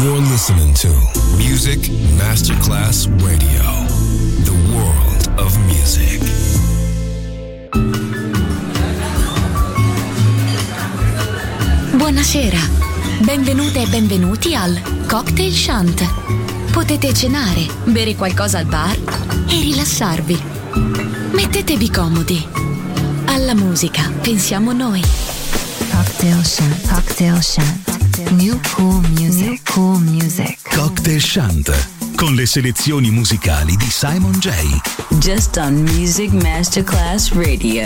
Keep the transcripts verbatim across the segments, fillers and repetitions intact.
You're listening to Music Masterclass Radio, the world of music. Buonasera, benvenute e benvenuti al Cocktail Shant. Potete cenare, bere qualcosa al bar e rilassarvi. Mettetevi comodi. Alla musica pensiamo noi. Cocktail Shant, Cocktail Shant. New cool music, New cool music. Cocktail Shant, con le selezioni musicali di Simon J. Just on Music Masterclass Radio.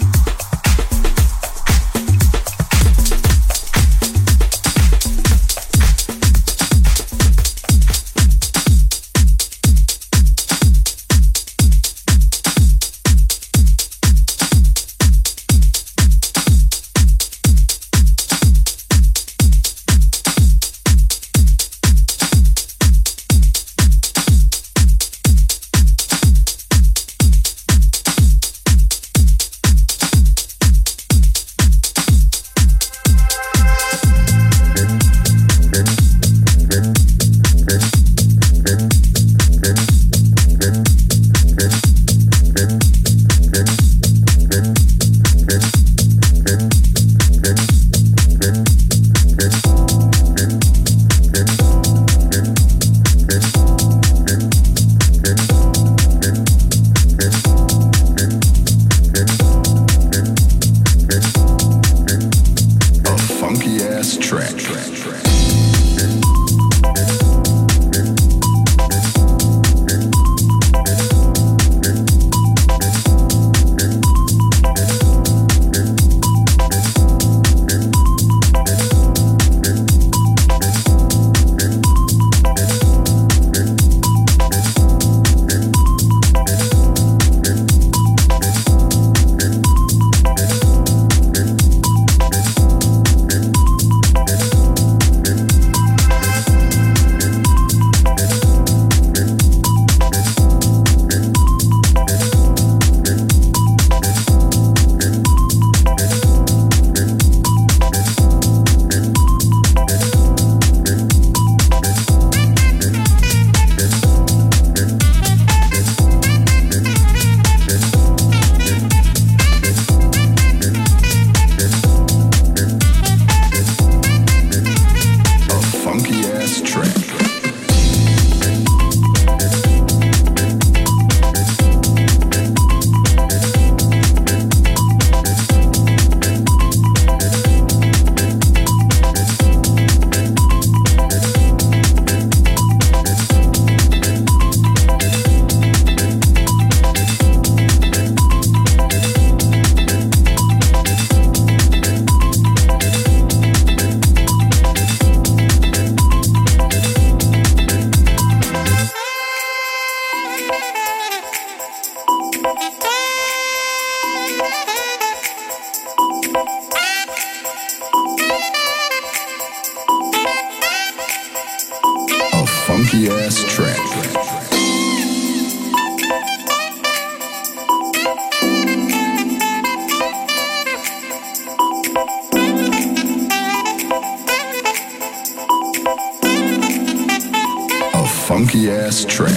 Funky ass track.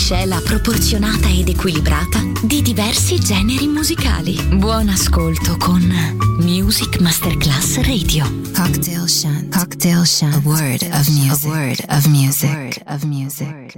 miscela proporzionata ed equilibrata di diversi generi musicali. Buon ascolto con Music Masterclass Radio. Cocktail Shant. Cocktail Shant. A word of music. A word of music. A word of music.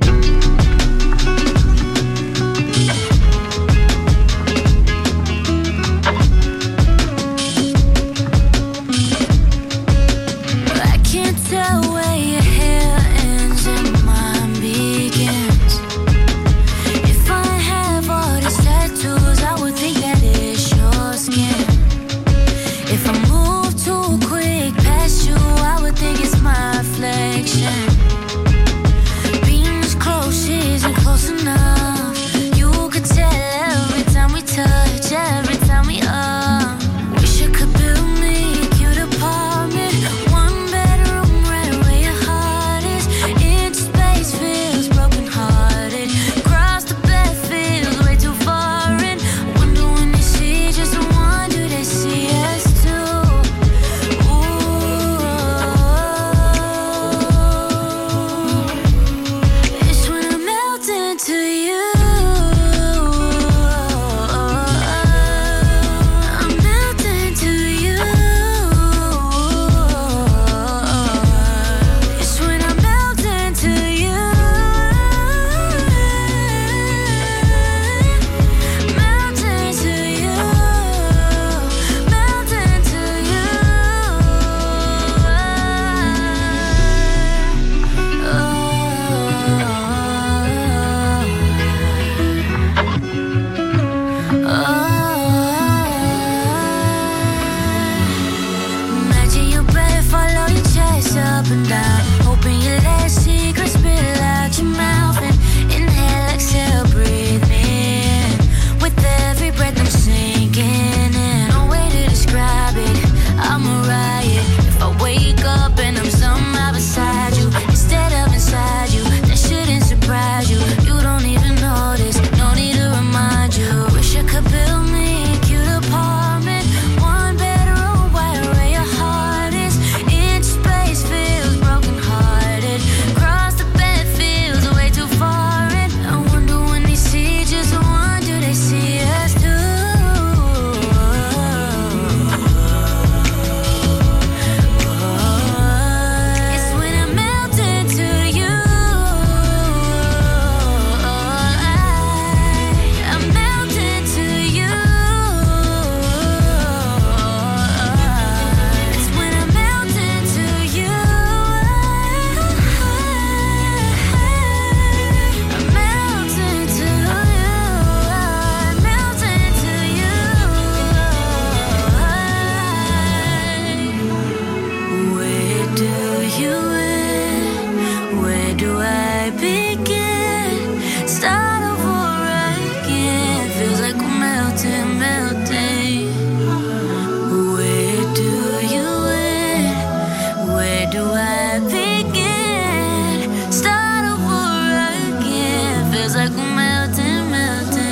I can't tell where your hair ends and mine begins. If I have all these tattoos, I would think that it's your skin. If I move too quick past you, I would think it's my reflection. Being as close isn't close enough. You could tell every time we touch, every time we up. Wish I could build me a cute apartment, one bedroom right where your heart is. Inch space feels broken hearted. Cross the bed feels way too foreign. Wonder when they see just one, do they see us too? Ooh, it's when I melt into you. I melt into you. It's when I melt into you. Melt into you. Melt into you. Imagine your breath follow your chest up and down. Open your legs, secret spill out your mouth and inhale, exhale, breathe me in. With every breath I'm sinking in. No way to describe it, I'm a riot. If I wake up and I'm somehow beside you instead of inside you, that shouldn't surprise you. You don't even notice, no need to remind you. Wish I could build me a cute apartment, one bedroom right where your heart is. Inch space feels broken hearted. Cross the bed feels way too foreign. I wonder when they see just one, do they see us too? It's when I melt into you. I melt into you. It's when I melt into you. I melt into you. I melt into you. Where do you end? Where do I begin? Start over again. Feels like we're melting, melting. Where do you end? Where do I begin? Start over again. Feels like we're melting, melting.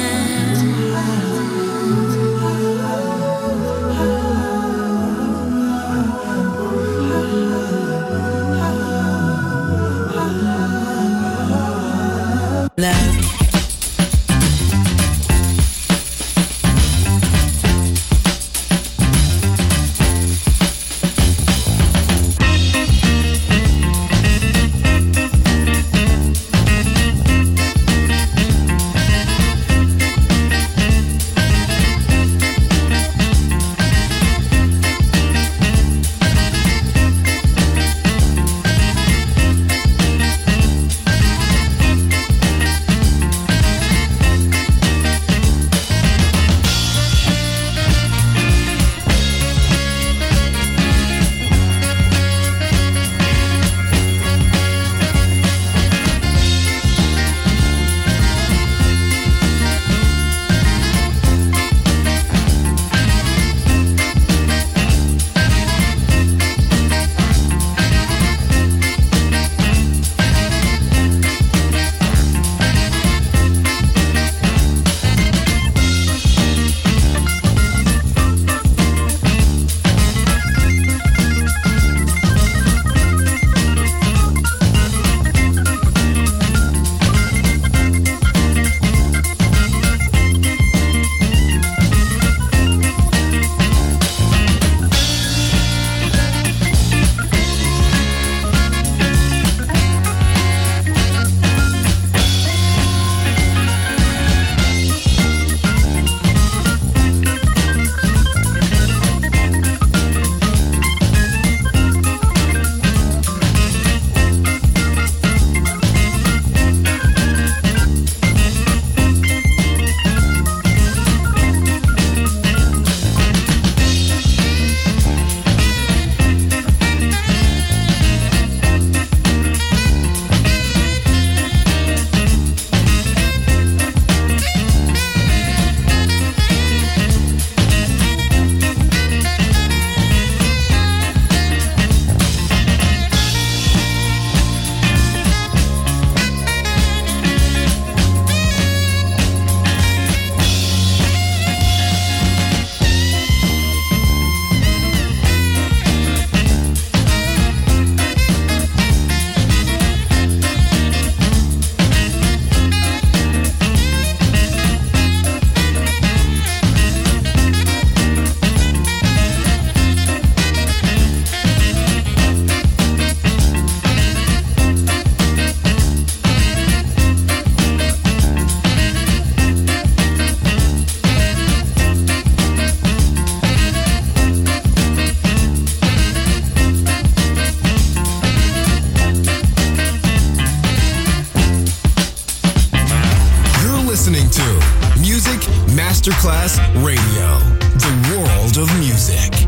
Masterclass Radio, the world of music.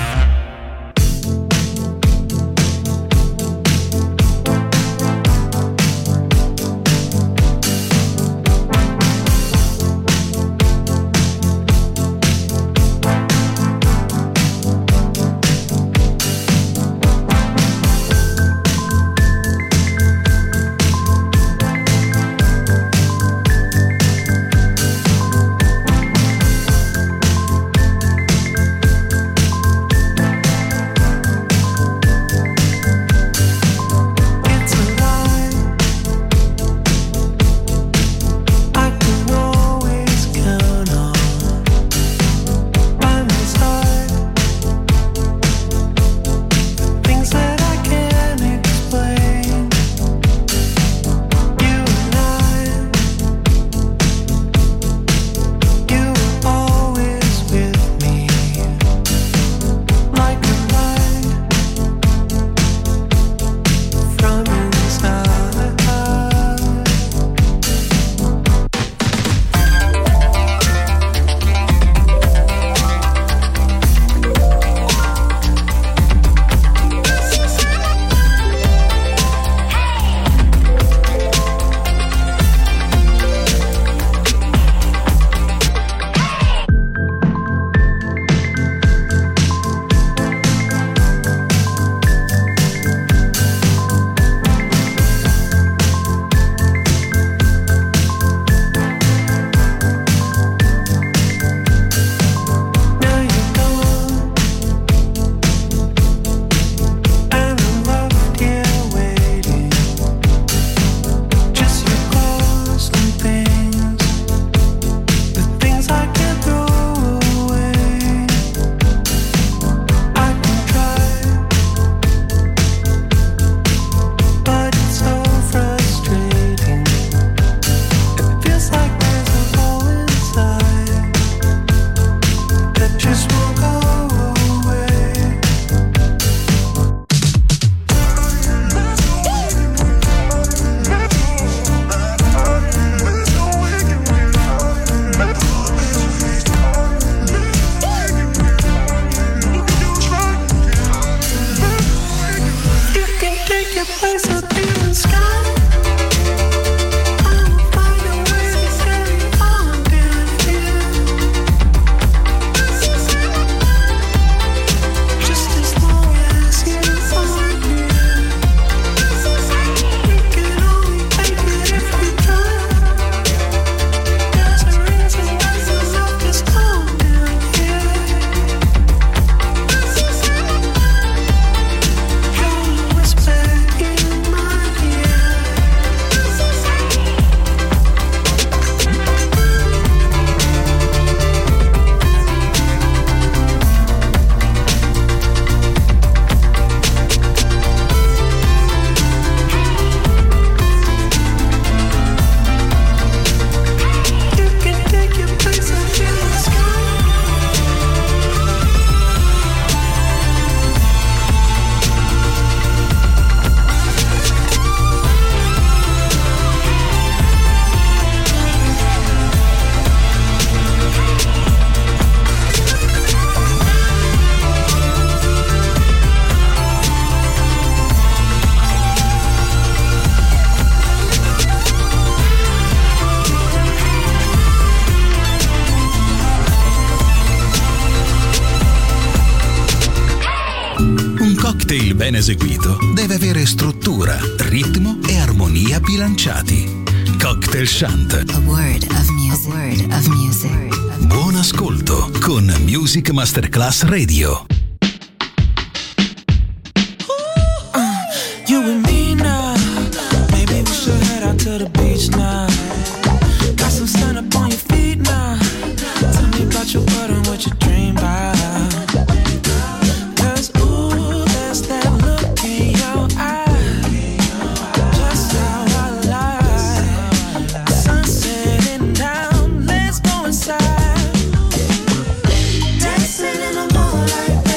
cocktail ben eseguito deve avere struttura, ritmo e armonia bilanciati. Cocktail Shant. A word of music. A word of music. Buon ascolto con Music Masterclass Radio. You and me now. Maybe we should head out to the beach now. Got some sun up on your feet now. Tell me about your world and what you dream about. Cause ooh, there's that look in your eye. Just how I like. Sun setting down, let's go inside. Dancing in the moonlight.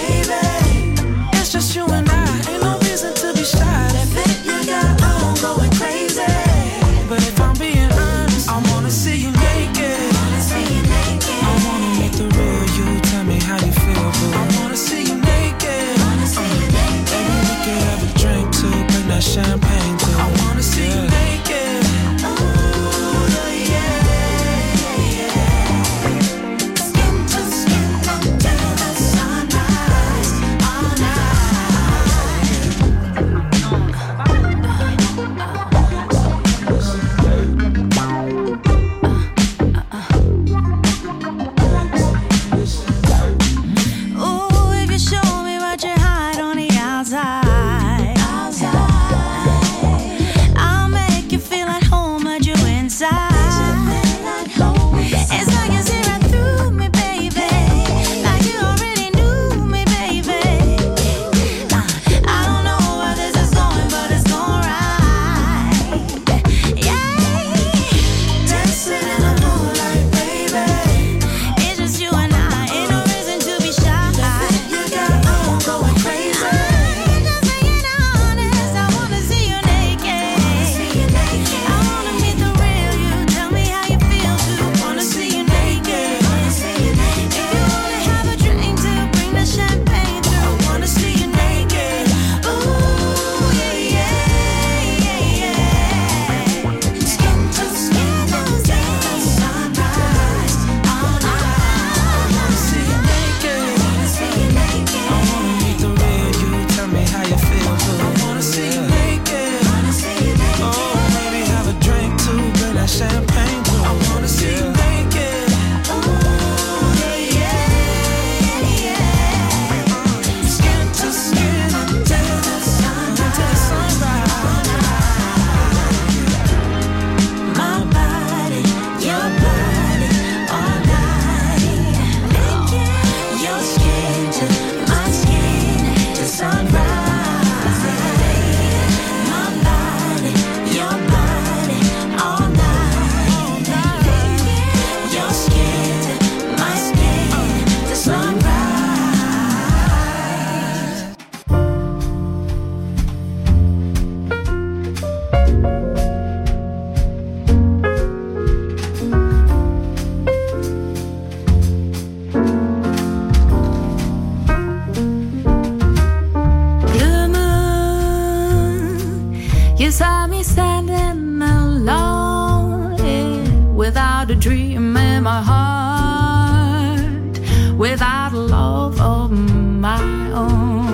You saw me standing alone, yeah, without a dream in my heart, without a love of my own.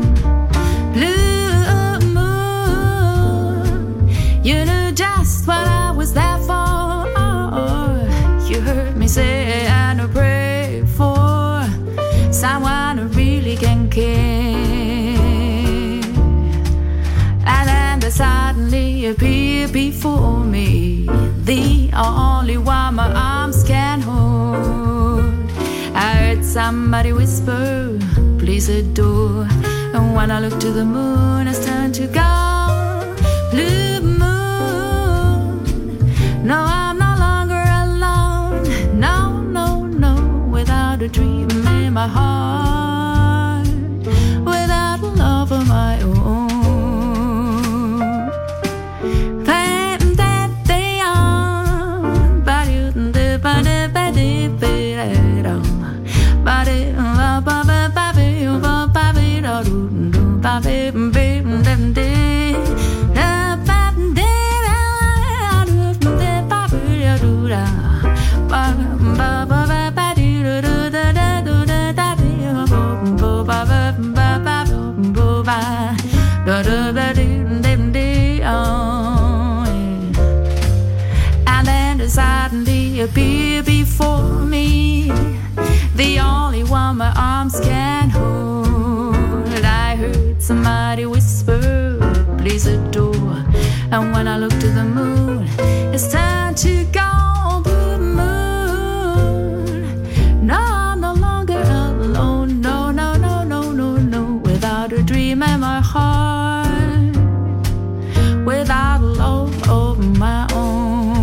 Blue moon, you knew just what I was there for. You heard me say and I pray for someone who really can care. Suddenly appear before me, the only one my arms can hold. I heard somebody whisper, please adore. And when I look to the moon, it's turned to gold. Blue moon, no, I'm no longer alone. No, no, no, without a dream in my heart, without a love of my own. And then suddenly appear before me, the only one my arms can hold. I heard somebody whisper, please adore. And when I look to the moon, it's time to go. Blue moon, no, I'm no longer alone. No, no, no, no, no, no, without a dream in my heart, without love of my own.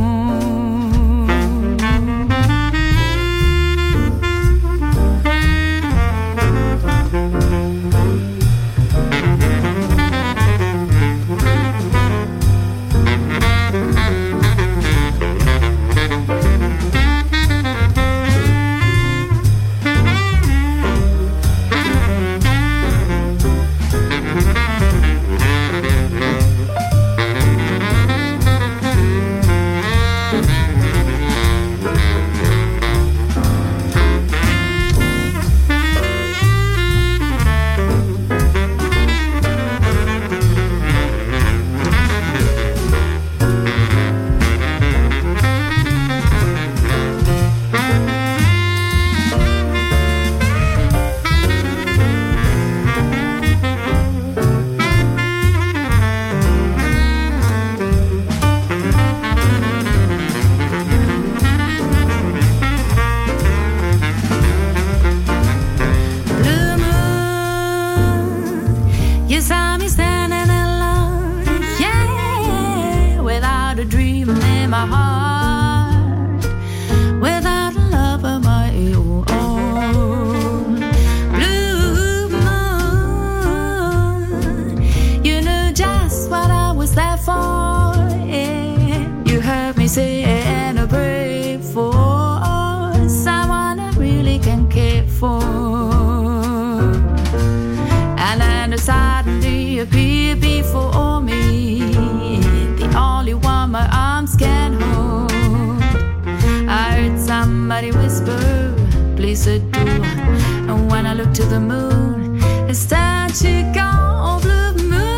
Suddenly appear before me, the only one my arms can hold. I heard somebody whisper, please adore. And when I look to the moon, it's time to go. Blue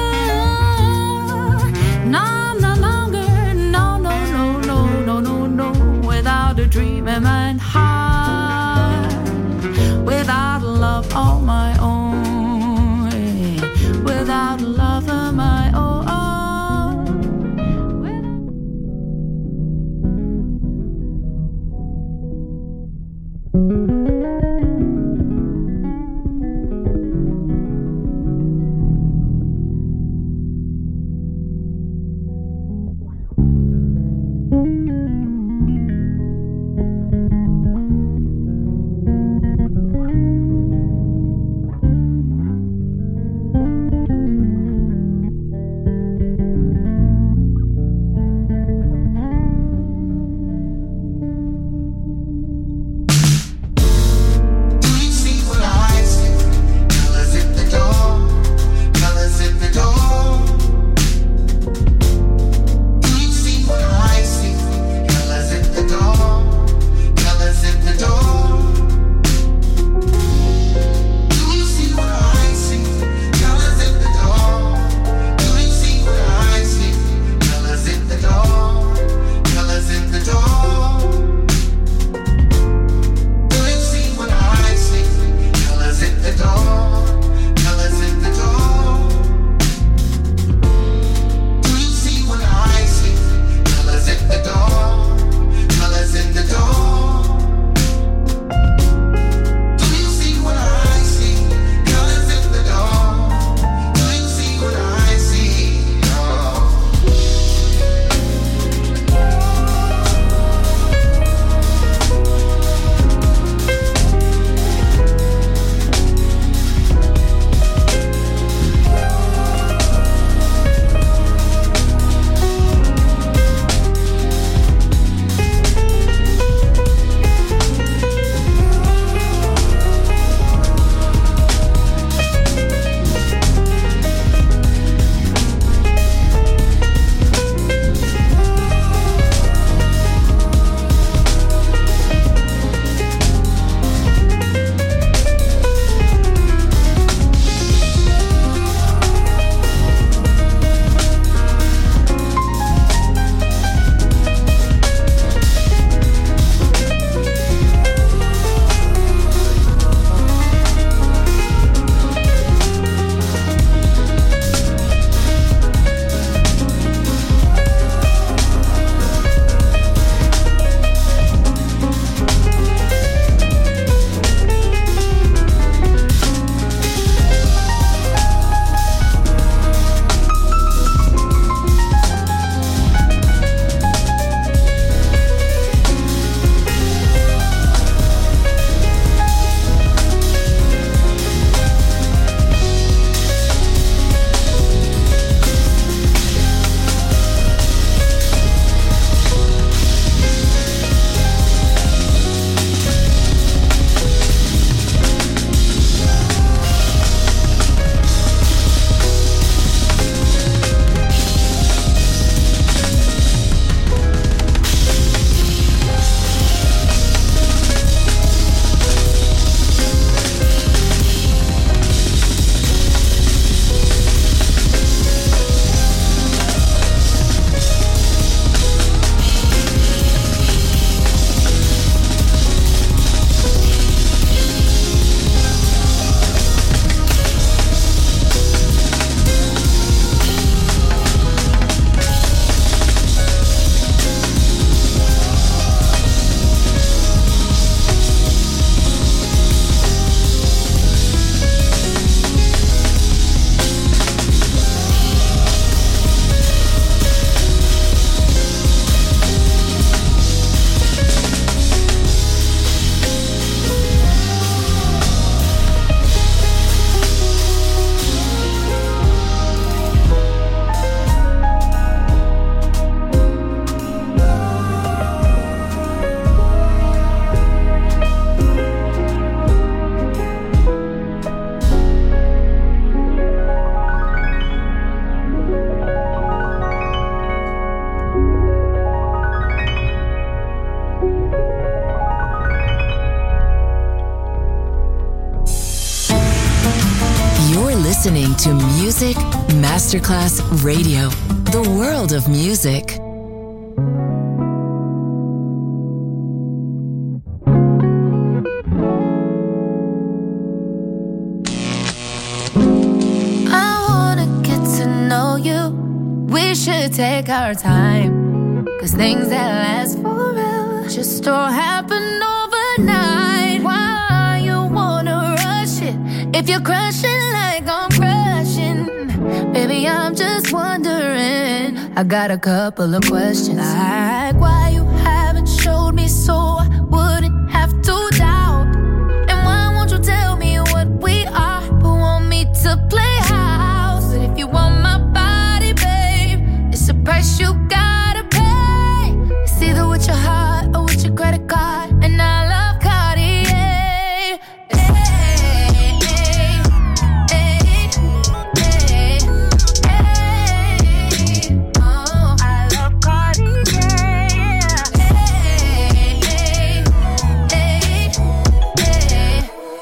moon, no, I'm no longer, no, no, no, no, no, no, no, without a dream in my heart, without love of my own. Without love of my own. Music Masterclass Radio. The world of music. I wanna get to know you. We should take our time, 'cause things that last forever just don't happen overnight. Why you wanna rush it? If you're crushing like I'm crushing, baby, I'm just wondering. I got a couple of questions, like why you haven't showed me so I wouldn't have to doubt. And why won't you tell me what we are, but want me to play house? But if you want my body, babe, it's a price you gotta pay. It's either with your heart or with your credit card, and I love Cartier. Hey, hey, hey, hey, hey. Oh, I love Cartier. Hey, hey, hey, hey,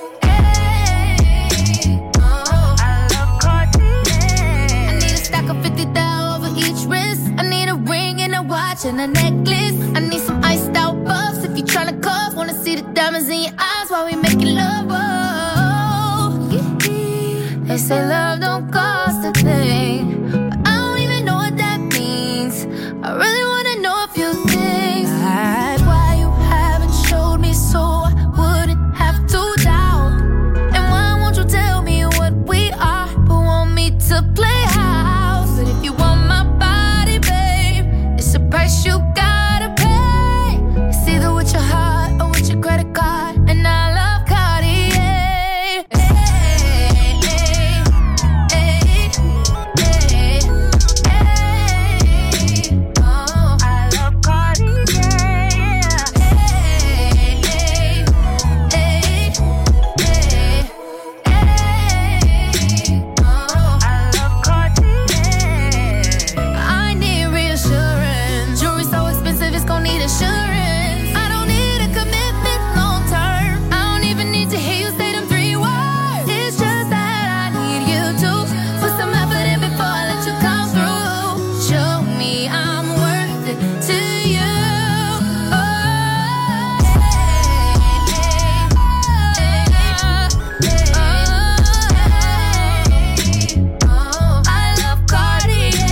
hey. Oh, I love Cartier. I need a stack of fifty thousand over each wrist. I need a ring and a watch and a necklace. I need some iced out puffs if you tryna cuff. Wanna see the diamonds in your eyes while we making love. Oh, they say love don't cost a thing, but I don't even know what that means. I really wanna know a few things, like why you haven't showed me so I wouldn't have to doubt. And why won't you tell me what we are, but want me to play house? But if you want my body, babe, it's a price you gotta pay. It's either with your heart or with your credit card, and I love Cartier. Hey, hey, hey, hey, hey. Oh, I love Cartier. Hey, hey, hey, hey, hey. Oh, I love Cartier. I need reassurance. Jewelry so expensive, it's gon' need assurance. I don't need a commitment long term. I don't even need to hear you say them three words. It's just that I need you to put some effort in before I let you come through. Show me I'm worth it to you. Oh, oh, I love Cartier.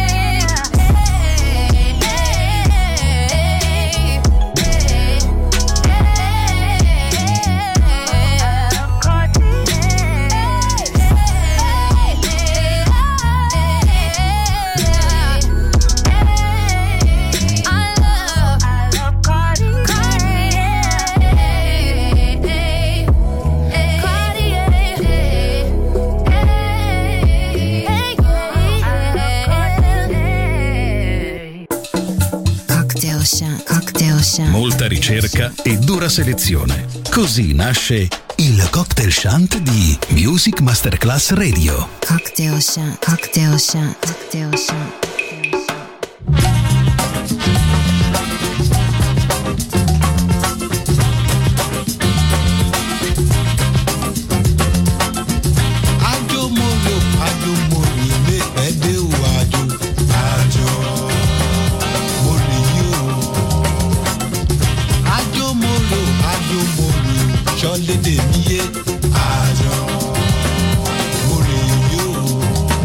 Cocktail Chant, Cocktail Chant. Molta ricerca e dura selezione. Così nasce il Cocktail Chant di Music Masterclass Radio. Cocktail Chant, Cocktail Chant, Cocktail Chant. Ajo moro, ajo mori, me pede o ajo, ajo mori yo. Ajo moro, ajo mori, ṣọlẹ de miye, ajo mori yo.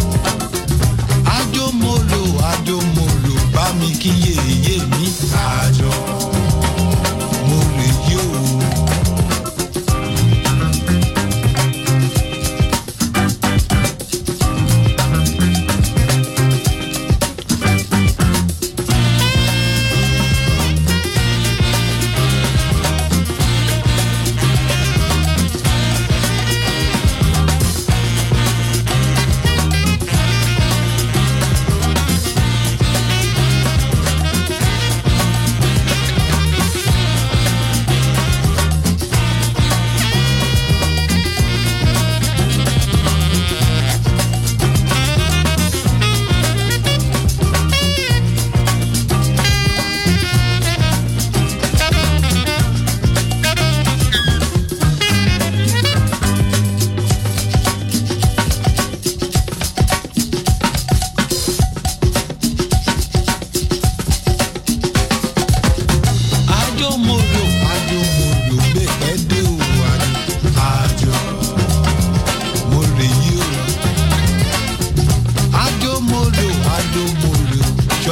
Ajo moro, ajo moro, bá mi kíyè yé mi, ajo mori yo.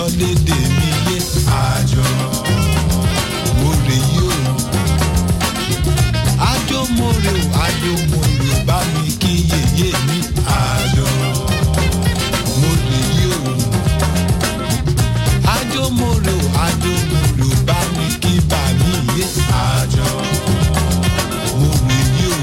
lédè mi yé àjọ mo rè yí o àjọ mo rè o àjọ mo rè o bá mi kí yèyé mi àjọ mo rè yí o àjọ mo rè o àjọ mo rè o bá mi kí bà mí yé àjọ mo rè yí o.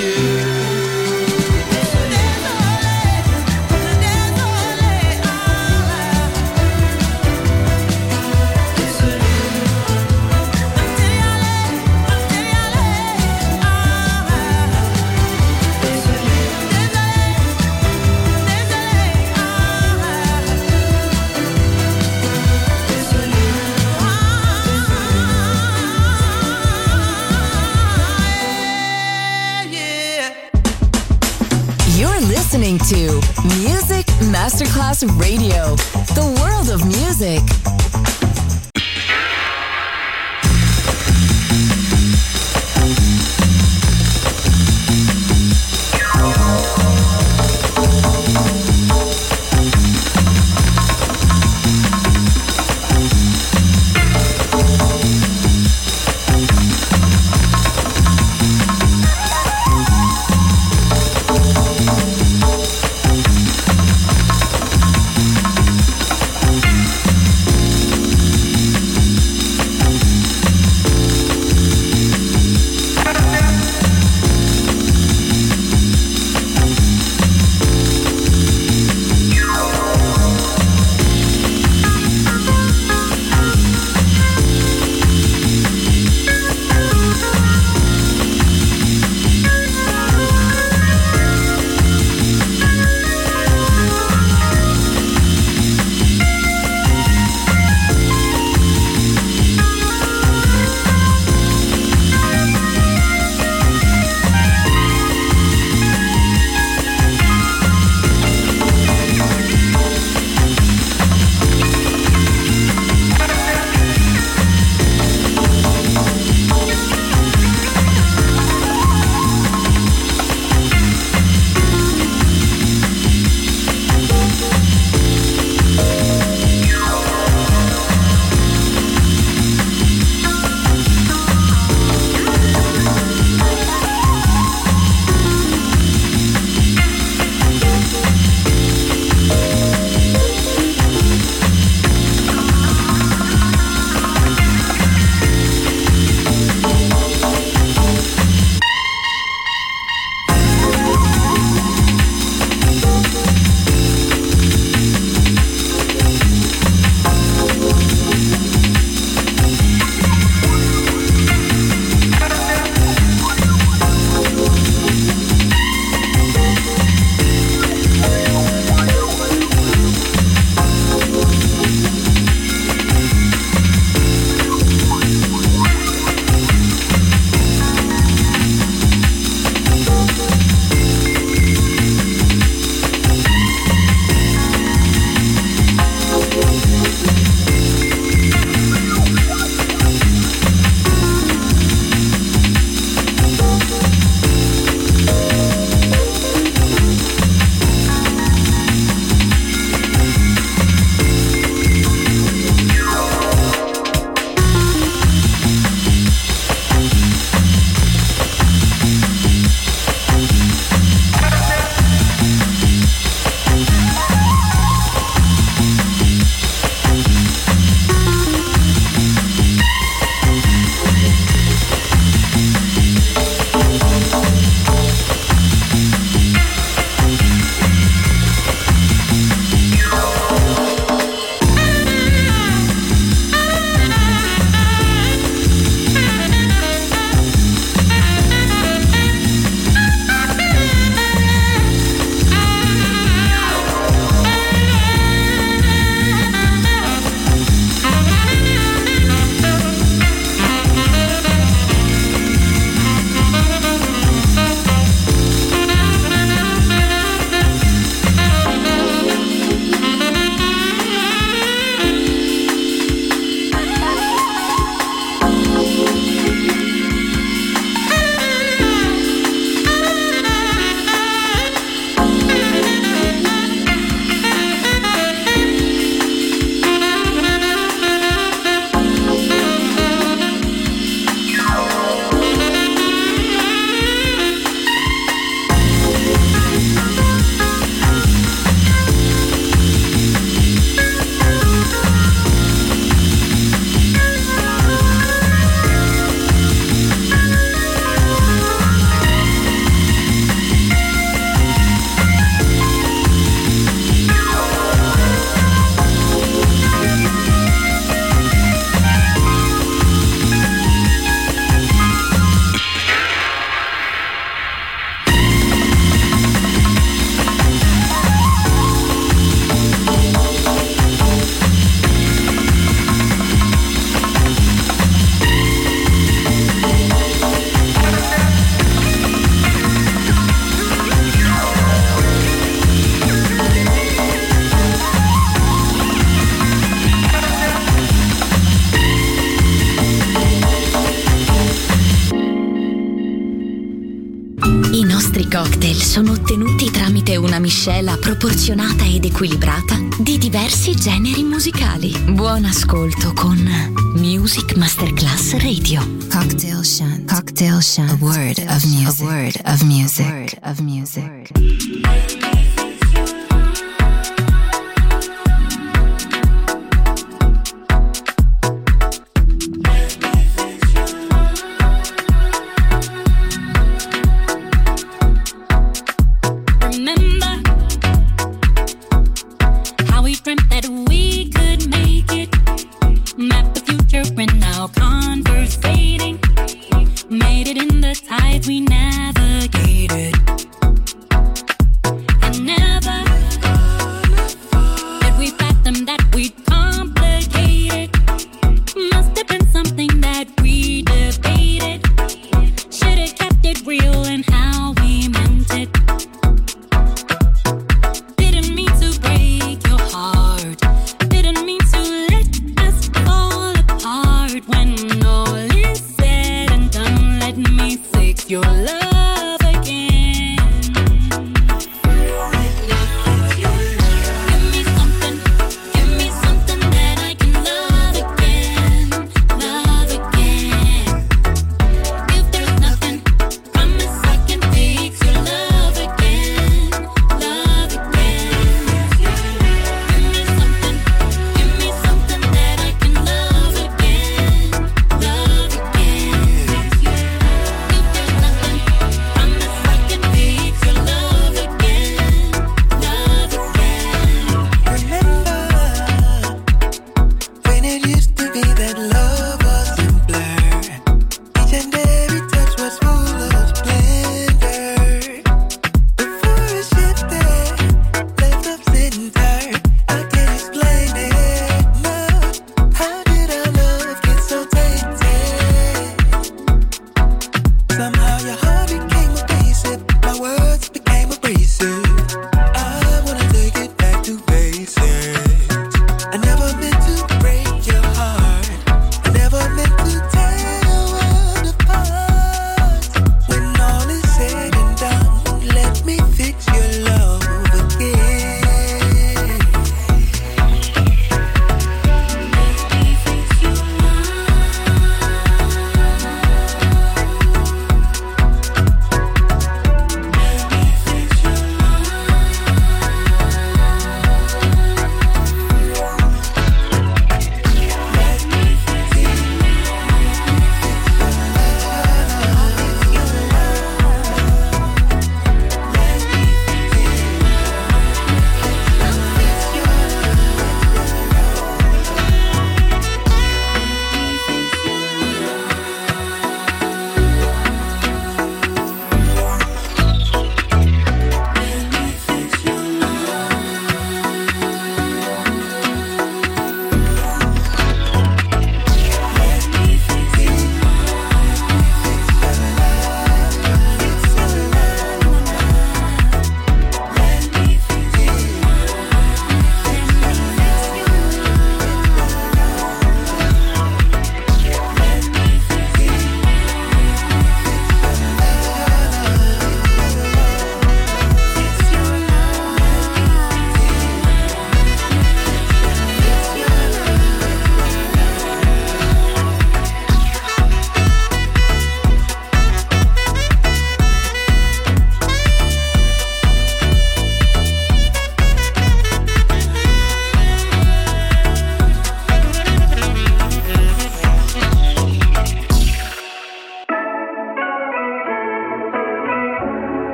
listening to Music Masterclass Radio, the world of music. I nostri cocktail sono ottenuti tramite una miscela proporzionata ed equilibrata di diversi generi musicali. Buon ascolto con Music Masterclass Radio. Cocktail Shant. Cocktail Shant. A word of music. A word of music. A word of music. We navigated.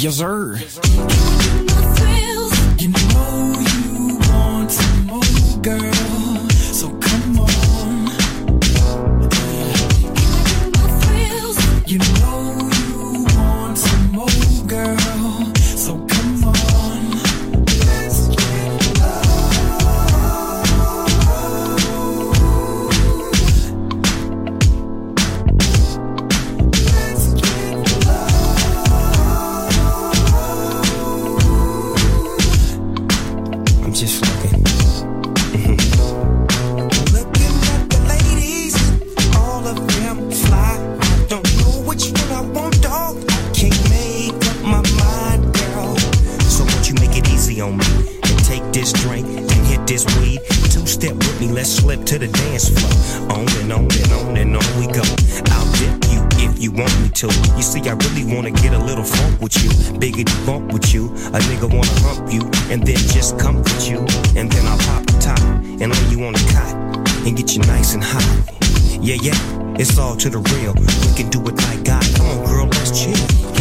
Yes, sir. You know you want some more, girl. So come on. You know you want some more, girl. So come on. Let's get just looking. Mm-hmm. Looking at the ladies, all of them fly. I don't know which one I want, dog. I can't make up my mind, girl. So won't you make it easy on me and take this drink and hit this weed? Two step with me, let's slip to the dance floor. On and on and on and on we go. I'll dip you if you want me to. You see, I really wanna get a little funk with you, biggity bump with you. A nigga wanna hump you and then just comfort you, and then I'll pop the top and lay you on the cot and get you nice and hot. Yeah, yeah, it's all to the real. We can do it like God. Come on, girl, let's chill.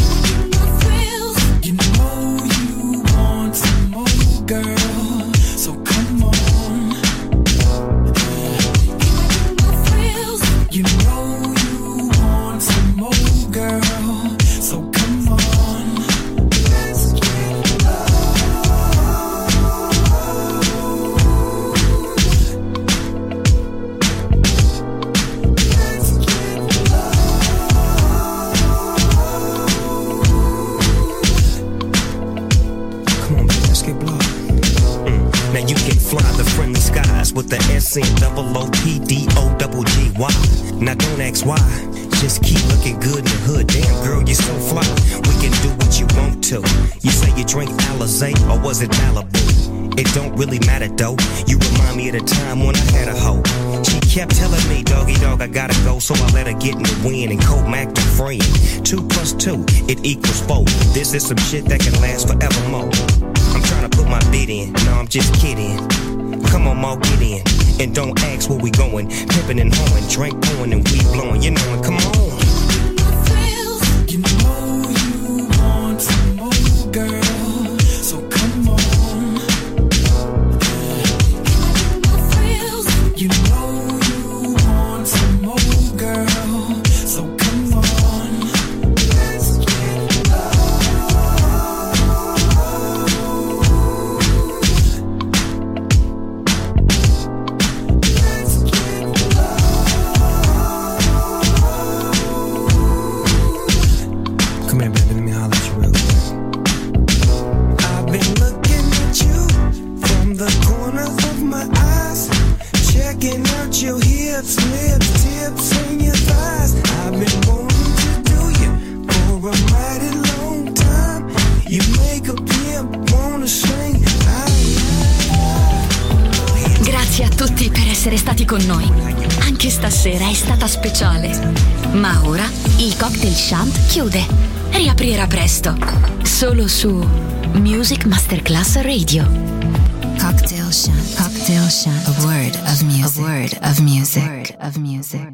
You know you want some more, girl. So come on. You know you want some more, girl. So come on. Let's get Now you can fly the friendly skies with the S N double O P D O double G Y. Now don't ask why, just keep looking good in the hood. Damn girl, you're so fly. We can do what you want to. You say you drink Alizé or was it Malibu? It don't really matter though. You remind me of the time when I had a hoe. She kept telling me, doggy dog, I gotta go, so I let her get in the wind and co-mac the friend. Two plus two, it equals four. This is some shit that can last forevermore. I'm trying to put my bid in, no, I'm just kidding. Come on, Mo, get in, and don't ask where we going. Pimpin' and hoeing, drink pouring and weed blowing. You know it, come on. You know you want some more, girl. So come on. You know you want some more, girl. So come on. Let's get Come here, baby, let me holler at you real quick. I've been looking at you from the corner of my eyes, checking out your hips, lips, tips, and your thighs. I've been wanting to do you for a mighty long time. You make a pimp wanna sing. Grazie a tutti per essere stati con noi. Anche stasera è stata speciale. Ma ora il Cocktail Shant chiude. Riaprirà presto. Solo su Music Masterclass Radio. Cocktail Shant. Cocktail Shant. A word of music. A word of music. A word of music.